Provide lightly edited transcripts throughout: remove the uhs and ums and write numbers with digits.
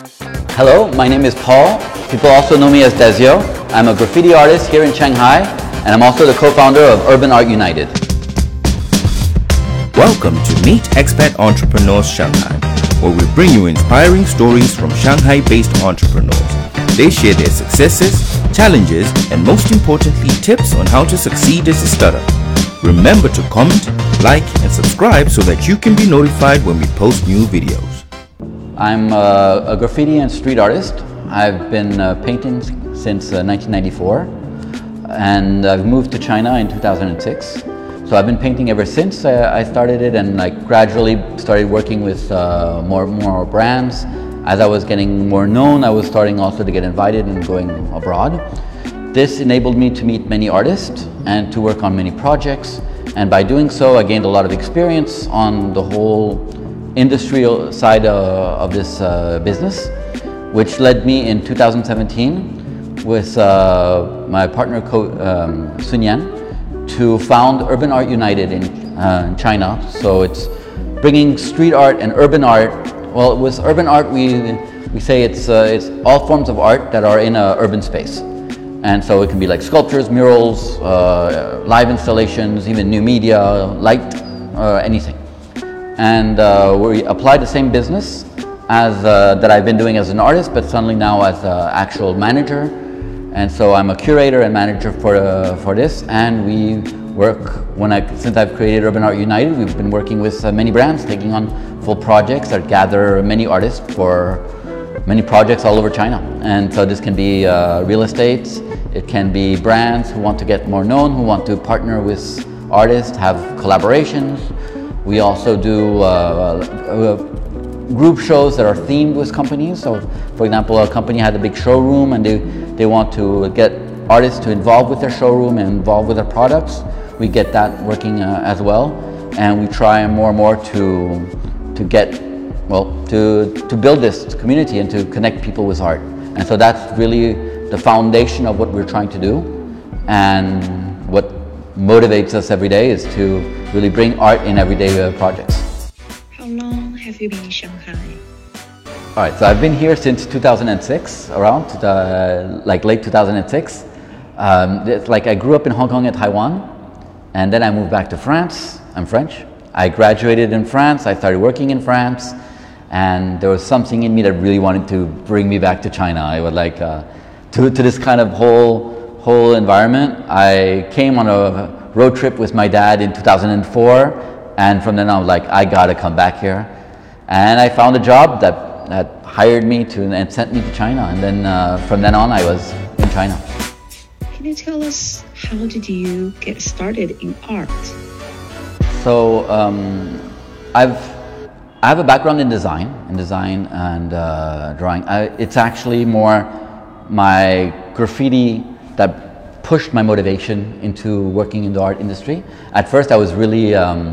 Hello, my name is Paul. People also know me as Dezio. I'm a graffiti artist here in Shanghai, and I'm also the co-founder of Urban Art United. Welcome to Meet Expat Entrepreneurs Shanghai, where we bring you inspiring stories from Shanghai-based entrepreneurs. They share their successes, challenges, and most importantly, tips on how to succeed as a startup. Remember to comment, like, and subscribe so that you can be notified when we post new videos. I'm a graffiti and street artist. I've been painting since 1994, and I've moved to China in 2006. So I've been painting ever since I started it, and gradually started working with more brands. As I was getting more known, I was starting also to get invited and going abroad. This enabled me to meet many artists and to work on many projects. And by doing so, I gained a lot of experience on the whole industrial side of this business, which led me in 2017 with my partner Sun Yan to found Urban Art United in China. So it's bringing street art and urban art. Well, with urban art, we say it's all forms of art that are in an urban space. And so it can be like sculptures, murals, live installations, even new media, light, anything. And we applied the same business as that I've been doing as an artist, but suddenly now as an actual manager. And so I'm a curator and manager for this, and we work, since I've created Urban Art United, we've been working with many brands, taking on full projects that gather many artists for many projects all over China. And so this can be real estate, it can be brands who want to get more known, who want to partner with artists, have collaborations. We also do group shows that are themed with companies. So for example, a company had a big showroom and they want to get artists to involve with their showroom and involve with their products. We get that working as well. And we try more and more to get, well, to build this community and to connect people with art. And so that's really the foundation of what we're trying to do. And what motivates us every day is to really bring art in everyday projects. How long have you been in Shanghai? All right, so I've been here since 2006, around late 2006. It's like I grew up in Hong Kong and Taiwan, and then I moved back to France. I'm French. I graduated in France. I started working in France, and there was something in me that really wanted to bring me back to China. I would like to this kind of whole environment. I came on a road trip with my dad in 2004, and from then on I was like, I gotta come back here. And I found a job that hired me and sent me to China, and then from then on I was in China. Can you tell us, how did you get started in art? So I have a background in design and drawing. It's actually more my graffiti that pushed my motivation into working in the art industry. At first I was really,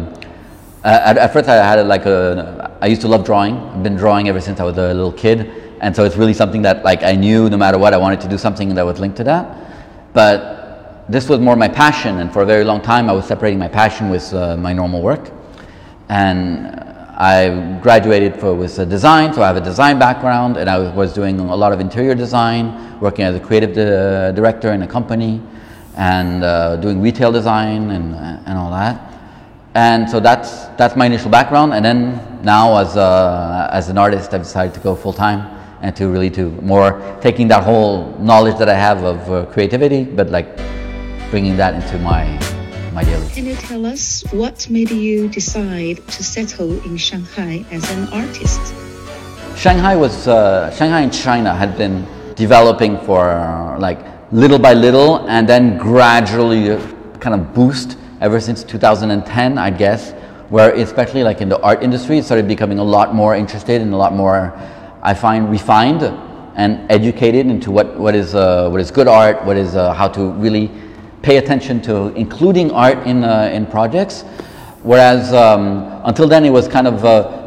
at first I had I used to love drawing. I've been drawing ever since I was a little kid. And so it's really something that I knew no matter what, I wanted to do something that was linked to that. But this was more my passion, and for a very long time I was separating my passion with my normal work. And I graduated with design, so I have a design background, and I was doing a lot of interior design, working as a creative director in a company, and doing retail design and all that. And so that's my initial background. And then now as an artist, I've decided to go full time and to really more taking that whole knowledge that I have of creativity, but bringing that into my daily. Can you tell us what made you decide to settle in Shanghai as an artist? Shanghai and China had been developing for little by little, and then gradually kind of boost ever since 2010, I guess, where especially in the art industry, it started becoming a lot more interested and a lot more, I find, refined and educated into what is good art, what is how to really pay attention to including art in projects. Whereas until then it was kind of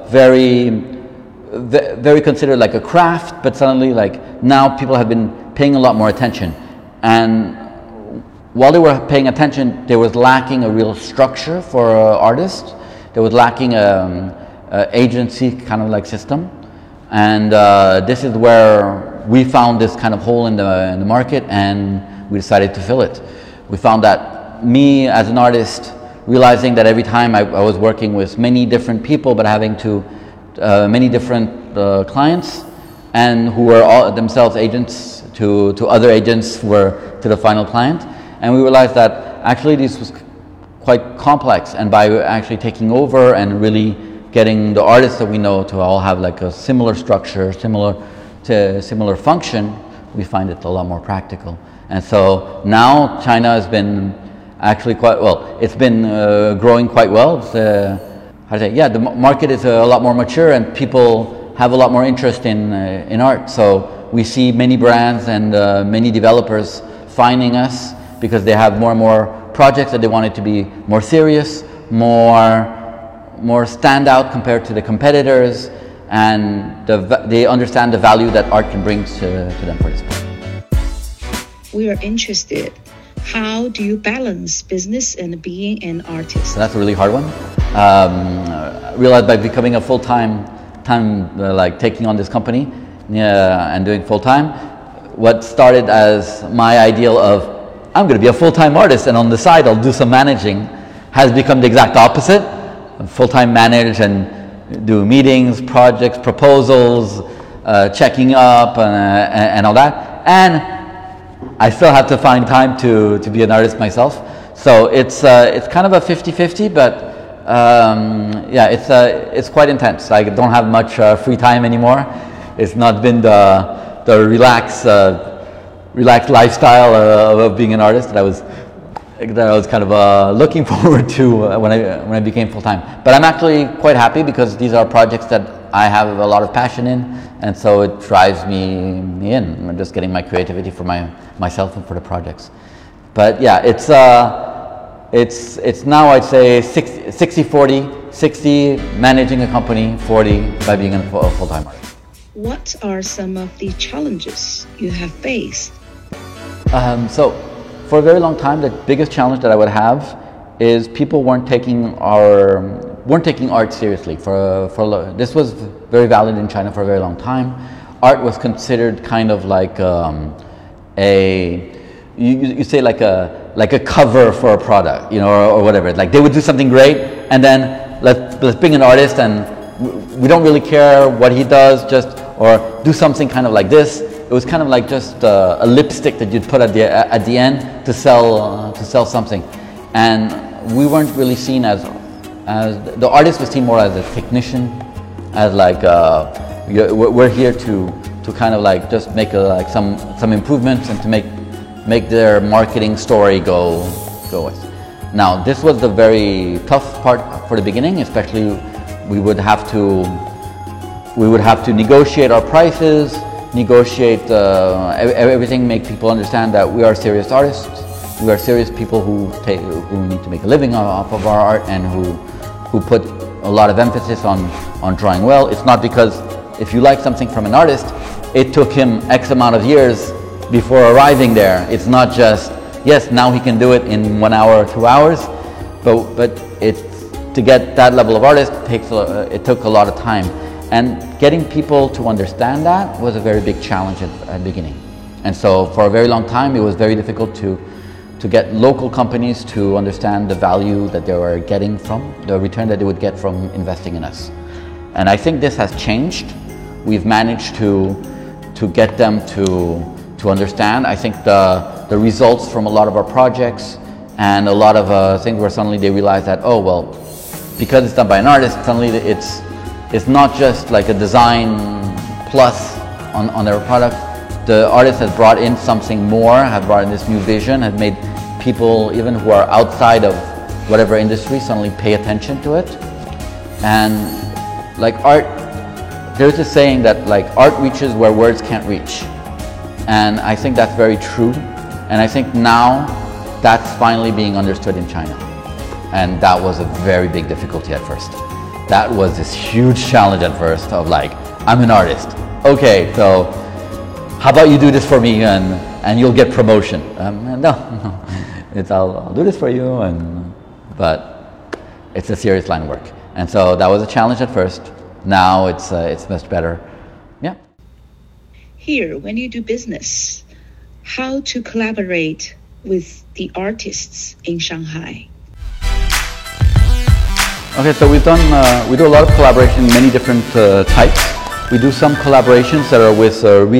very considered like a craft, but suddenly now people have been paying a lot more attention. And while they were paying attention, there was lacking a real structure for artists. There was lacking agency kind of system. And this is where we found this kind of hole in the market, and we decided to fill it. We found that me as an artist, realizing that every time I was working with many different people, but having to many different clients, and who were all themselves agents to other agents who were to the final client. And we realized that actually this was quite complex, and by actually taking over and really getting the artists that we know to all have like a similar structure, similar function, we find it a lot more practical. And so now China has been actually quite well. It's been growing quite well. It's, how to say? Yeah, the market is a lot more mature, and people have a lot more interest in art. So we see many brands and many developers finding us because they have more and more projects that they want it to be more serious, more standout compared to the competitors, and they understand the value that art can bring to them for this point. We are interested. How do you balance business and being an artist? So that's a really hard one. Realized by becoming a full-time, like taking on this company and doing full-time, what started as my ideal of I'm going to be a full-time artist and on the side I'll do some managing has become the exact opposite. Full-time manage and do meetings, projects, proposals, checking up and all that. And I still have to find time to be an artist myself. So it's kind of a 50-50, but yeah, it's quite intense. I don't have much free time anymore. It's not been the relaxed lifestyle of being an artist that I was kind of looking forward to when I became full-time. But I'm actually quite happy because these are projects that I have a lot of passion in, and so it drives me in. I'm just getting my creativity for myself and for the projects. But yeah, it's now I'd say 60-40, 60 managing a company, 40 by being a full-time artist. What are some of the challenges you have faced? So for a very long time, the biggest challenge that I would have is people weren't taking art seriously. This was very valid in China for a very long time. Art was considered kind of like you say like a cover for a product, you know, or whatever. Like they would do something great, and then let's bring an artist, and we don't really care what he does, or do something kind of like this. It was kind of like just a lipstick that you'd put at the end to sell something, and we weren't really seen as the artist was seen more as a technician, as like we're here to kind of like just make like some improvements and to make their marketing story go with. Now this was the very tough part for the beginning, especially we would have to negotiate our prices, negotiate everything, make people understand that we are serious artists, we are serious people who need to make a living off of our art, and who put a lot of emphasis on drawing well. It's not because if you like something from an artist, it took him X amount of years before arriving there. It's not just, yes, now he can do it in 1 hour or 2 hours, but to get that level of artist it took a lot of time. And getting people to understand that was a very big challenge at the beginning. And so for a very long time, it was very difficult to get local companies to understand the value that they were getting the return that they would get from investing in us. And I think this has changed. We've managed to get them to understand. I think the results from a lot of our projects and a lot of things where suddenly they realize that, oh, well, because it's done by an artist, suddenly it's not just like a design plus on their product. The artist has brought in something more, has brought in this new vision, has made people even who are outside of whatever industry suddenly pay attention to it. And like art, there's a saying that like art reaches where words can't reach. And I think that's very true. And I think now that's finally being understood in China. And that was a very big difficulty at first. That was this huge challenge at first of like, I'm an artist. Okay, so how about you do this for me and you'll get promotion? No, I'll do this for you, but it's a serious line of work. And so that was a challenge at first. Now it's much better. here, when you do business, how to collaborate with the artists in Shanghai? Okay, so we do a lot of collaboration in many different types. We do some collaborations that are with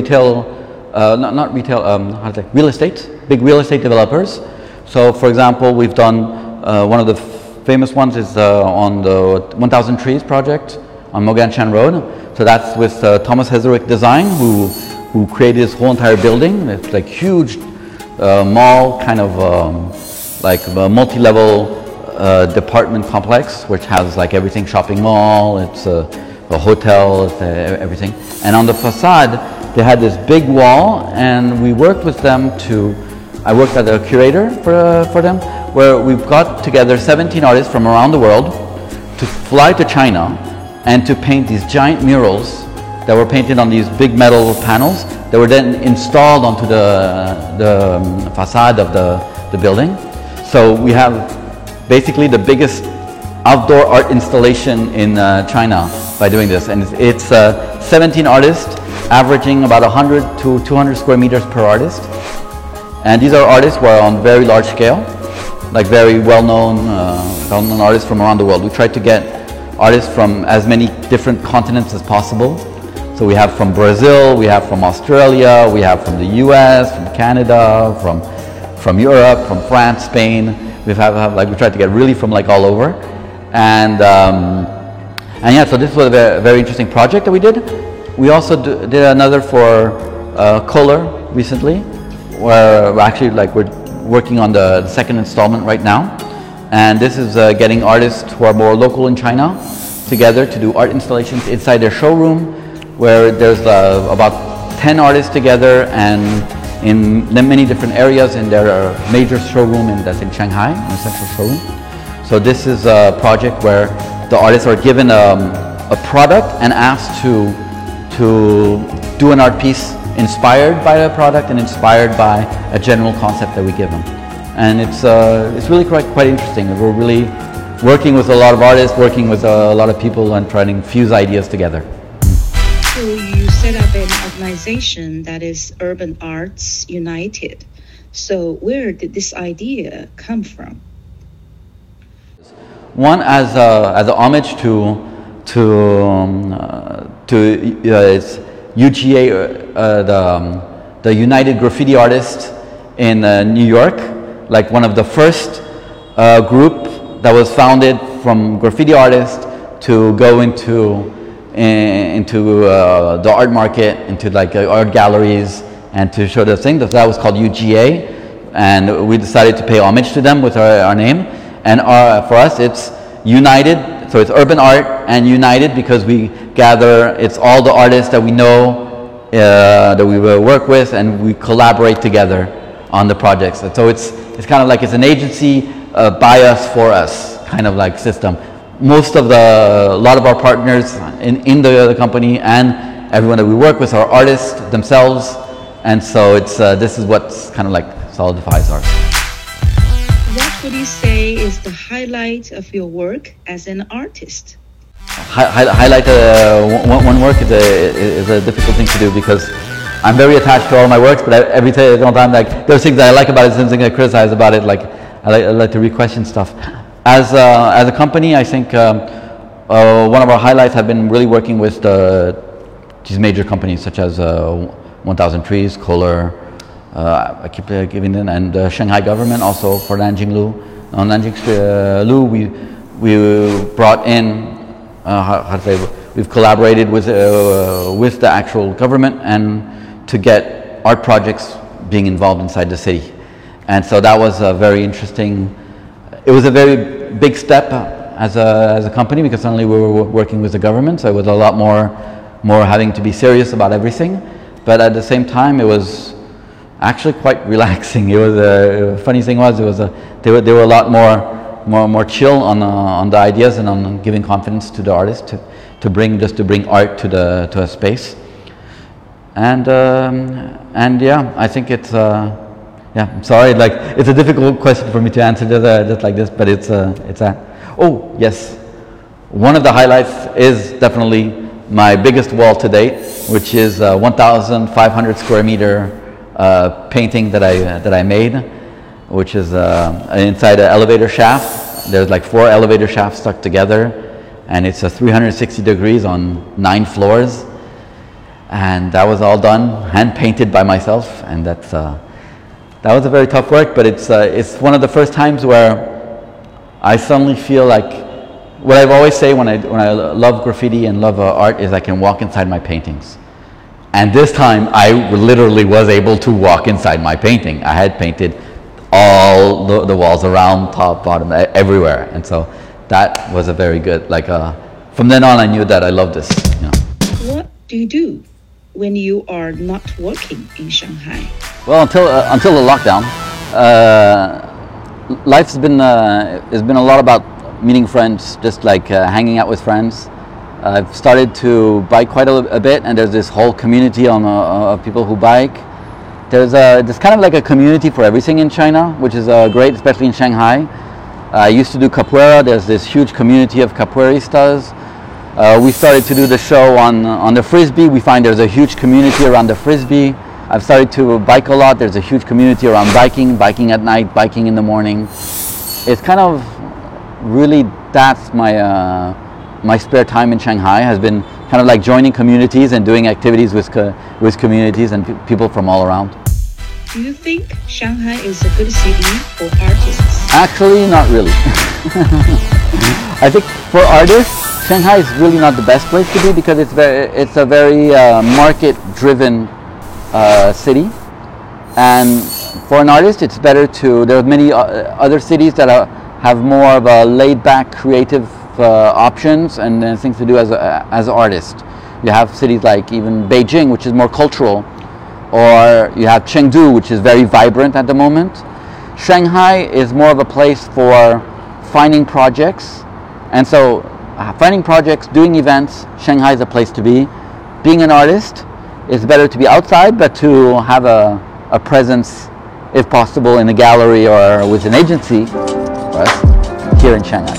real estate, big real estate developers. So for example, we've done one of the famous ones is on the 1000 Trees project on Moganshan Road. So that's with Thomas Heatherwick Design, who created this whole entire building. It's like huge mall, kind of like a multi-level department complex, which has like everything, shopping mall, it's a hotel, it's everything. And on the facade, they had this big wall, and we worked with them I worked as a curator for them, where we've got together 17 artists from around the world to fly to China and to paint these giant murals that were painted on these big metal panels that were then installed onto the facade of the building. So we have basically the biggest outdoor art installation in China by doing this, and it's 17 artists averaging about 100 to 200 square meters per artist, and these are artists who are on very large scale, like very well-known artists from around the world. We tried to get artists from as many different continents as possible. So we have from Brazil, we have from Australia, we have from the US, from Canada, from Europe, from France, Spain. We tried to get really from like all over, and yeah. So this was a very interesting project that we did. We also did another for Kohler recently, where we're working on the second installment right now, and this is getting artists who are more local in China together to do art installations inside their showroom, where there's about 10 artists together and in many different areas in their major showroom that's in Shanghai, in the central showroom. So this is a project where the artists are given a product and asked to do an art piece inspired by the product and inspired by a general concept that we give them. And it's really quite interesting. We're really working with a lot of artists, working with a lot of people, and trying to fuse ideas together. So you set up an organization that is Urban Arts United. So where did this idea come from? One, as a homage to it's UGA, the United Graffiti Artists in New York, like one of the first group that was founded from graffiti artists to go into the art market, into like art galleries, and to show the thing. That was called UGA, and we decided to pay homage to them with our name. And for us, it's United, so it's urban art and united because we gather, it's all the artists that we know, that we will work with, and we collaborate together on the projects. And so it's kind of like it's an agency by us, for us, kind of like system. A lot of our partners in the company and everyone that we work with are artists themselves, and so it's this is what's kind of like solidifies ours. What would you say is the highlight of your work as an artist? Highlight one work is a difficult thing to do because I'm very attached to all my works, but every time like there's things that I like about it, some things I criticize about it. Like I like to re-question stuff. As a company, I think one of our highlights have been really working with these major companies such as 1000 Trees, Kohler, I keep giving them, and Shanghai government also for Nanjing Lu. On Nanjing Lu, we brought in we've collaborated with the actual government and to get art projects being involved inside the city, and so that was a very interesting. It was a very big step as a company because suddenly we were working with the government, so it was a lot more having to be serious about everything. But at the same time, it was actually quite relaxing. It was funny thing was they were a lot more chill on the ideas and on giving confidence to the artists to bring art to a space. And yeah, I think it's. Yeah, I'm sorry. Like it's a difficult question for me to answer just like this, but it's a. Oh yes, one of the highlights is definitely my biggest wall to date, which is a 1,500 square meter painting that I made, which is inside an elevator shaft. There's like 4 elevator shafts stuck together, and it's a 360 degrees on 9 floors. And that was all done, hand painted by myself, and that was a very tough work. But it's one of the first times where I suddenly feel like what I've always say when I love graffiti and love art is I can walk inside my paintings. And this time I literally was able to walk inside my painting. I had painted all the walls around, top, bottom, everywhere, and so that was a very good. From then on, I knew that I loved this. You know. What do you do when you are not working in Shanghai? Well, until the lockdown, life's been has been a lot about meeting friends, just like hanging out with friends. I've started to bike quite a bit, and there's this whole community of people who bike. There's kind of like a community for everything in China, which is great, especially in Shanghai. I used to do capoeira. There's this huge community of capoeiristas. We started to do the show on the Frisbee. We find there's a huge community around the Frisbee. I've started to bike a lot. There's a huge community around biking at night, biking in the morning. It's kind of really, that's my spare time in Shanghai, has been kind of like joining communities and doing activities with communities and people from all around. Do you think Shanghai is a good city for artists? Actually, not really. I think for artists, Shanghai is really not the best place to be because it's a very market-driven city. And for an artist, it's better there are many other cities that have more of a laid-back, creative options and things to do as an artist. You have cities like even Beijing, which is more cultural, or you have Chengdu, which is very vibrant at the moment. Shanghai is more of a place for finding projects, and so finding projects, doing events, Shanghai is a place to be. Being an artist, it's better to be outside, but to have a presence, if possible, in a gallery or with an agency, for us, here in Shanghai.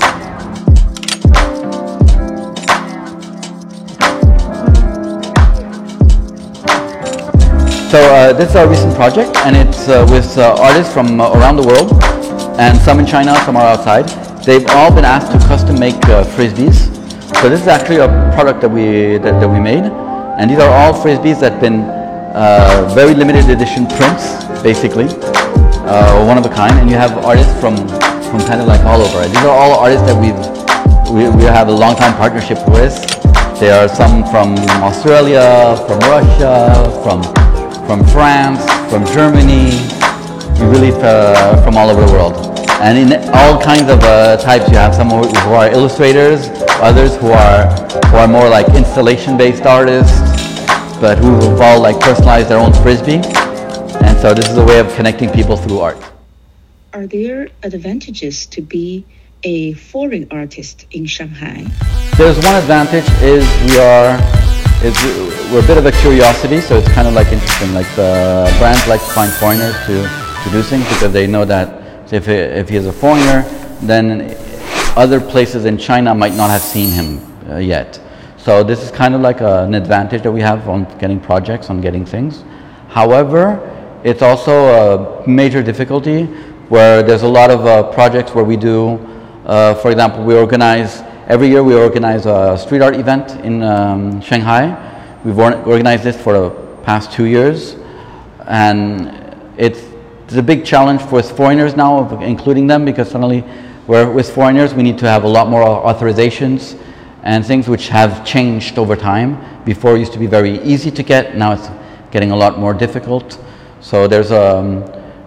So this is our recent project, and it's with artists from around the world, and some in China, some are outside. They've all been asked to custom make frisbees. So this is actually a product that we made, and these are all frisbees that have been very limited edition prints, basically, one of a kind. And you have artists from kind of like all over. These are all artists that we have a long time partnership with. There are some from Australia, from Russia, from France, from Germany, really from all over the world. And in all kinds of types, you have some who are illustrators, others who are more like installation-based artists, but who've all like personalized their own frisbee. And so this is a way of connecting people through art. Are there advantages to be a foreign artist in Shanghai? There's one advantage is we're a bit of a curiosity, so it's kind of like interesting. Like the brands like to find foreigners to do things because they know that if he is a foreigner, then other places in China might not have seen him yet. So this is kind of like an advantage that we have on getting projects, on getting things. However, it's also a major difficulty where there's a lot of projects where we do, for example, every year we organize a street art event in Shanghai. We've organized this for the past 2 years, and it's a big challenge for foreigners now, including them, because suddenly with foreigners we need to have a lot more authorizations and things which have changed over time. Before it used to be very easy to get, now it's getting a lot more difficult. So there's an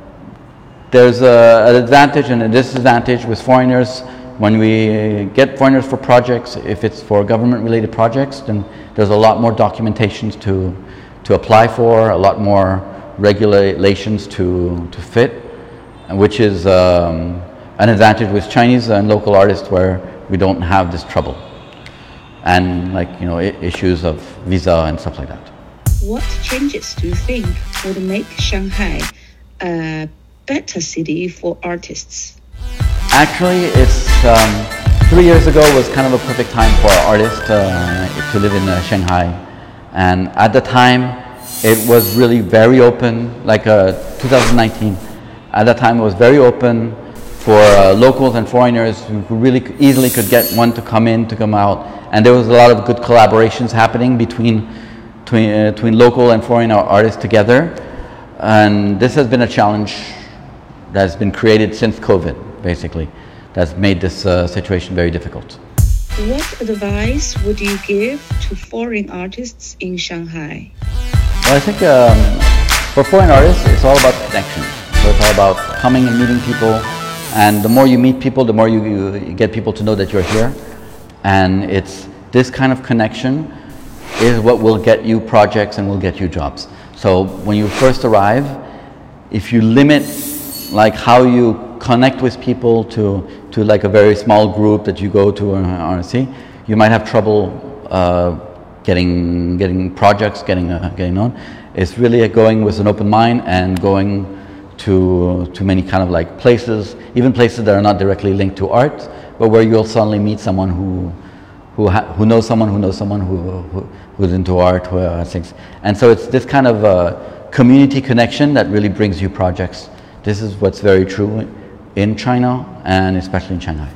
advantage and a disadvantage with foreigners. When we get foreigners for projects, if it's for government-related projects, then there's a lot more documentations to apply for, a lot more regulations to fit, which is an advantage with Chinese and local artists where we don't have this trouble. And issues of visa and stuff like that. What changes do you think would make Shanghai a better city for artists? Actually, 3 years ago was kind of a perfect time for artists to live in Shanghai. And at the time, it was really very open, like 2019. At that time, it was very open for locals and foreigners who really easily could get one to come in, to come out. And there was a lot of good collaborations happening between local and foreign artists together. And this has been a challenge that's been created since COVID, basically. That's made this situation very difficult. What advice would you give to foreign artists in Shanghai? Well, I think for foreign artists, it's all about connection. So it's all about coming and meeting people. And the more you meet people, the more you get people to know that you're here. And it's this kind of connection is what will get you projects and will get you jobs. So when you first arrive, if you limit like how you connect with people to like a very small group that you go to on RNC, you might have trouble getting projects, getting known. It's really going with an open mind and going to many kind of like places, even places that are not directly linked to art, but where you'll suddenly meet someone who knows someone who knows someone who's into art, who things. And so it's this kind of community connection that really brings you projects. This is what's very true in China and especially in Shanghai.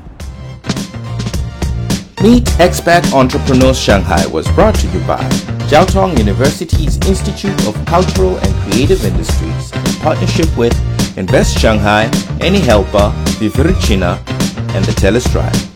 Meet Expat Entrepreneurs Shanghai was brought to you by Jiao Tong University's Institute of Cultural and Creative Industries in partnership with Invest Shanghai, Any Helper, Viviricina, and the TELUS Tribe.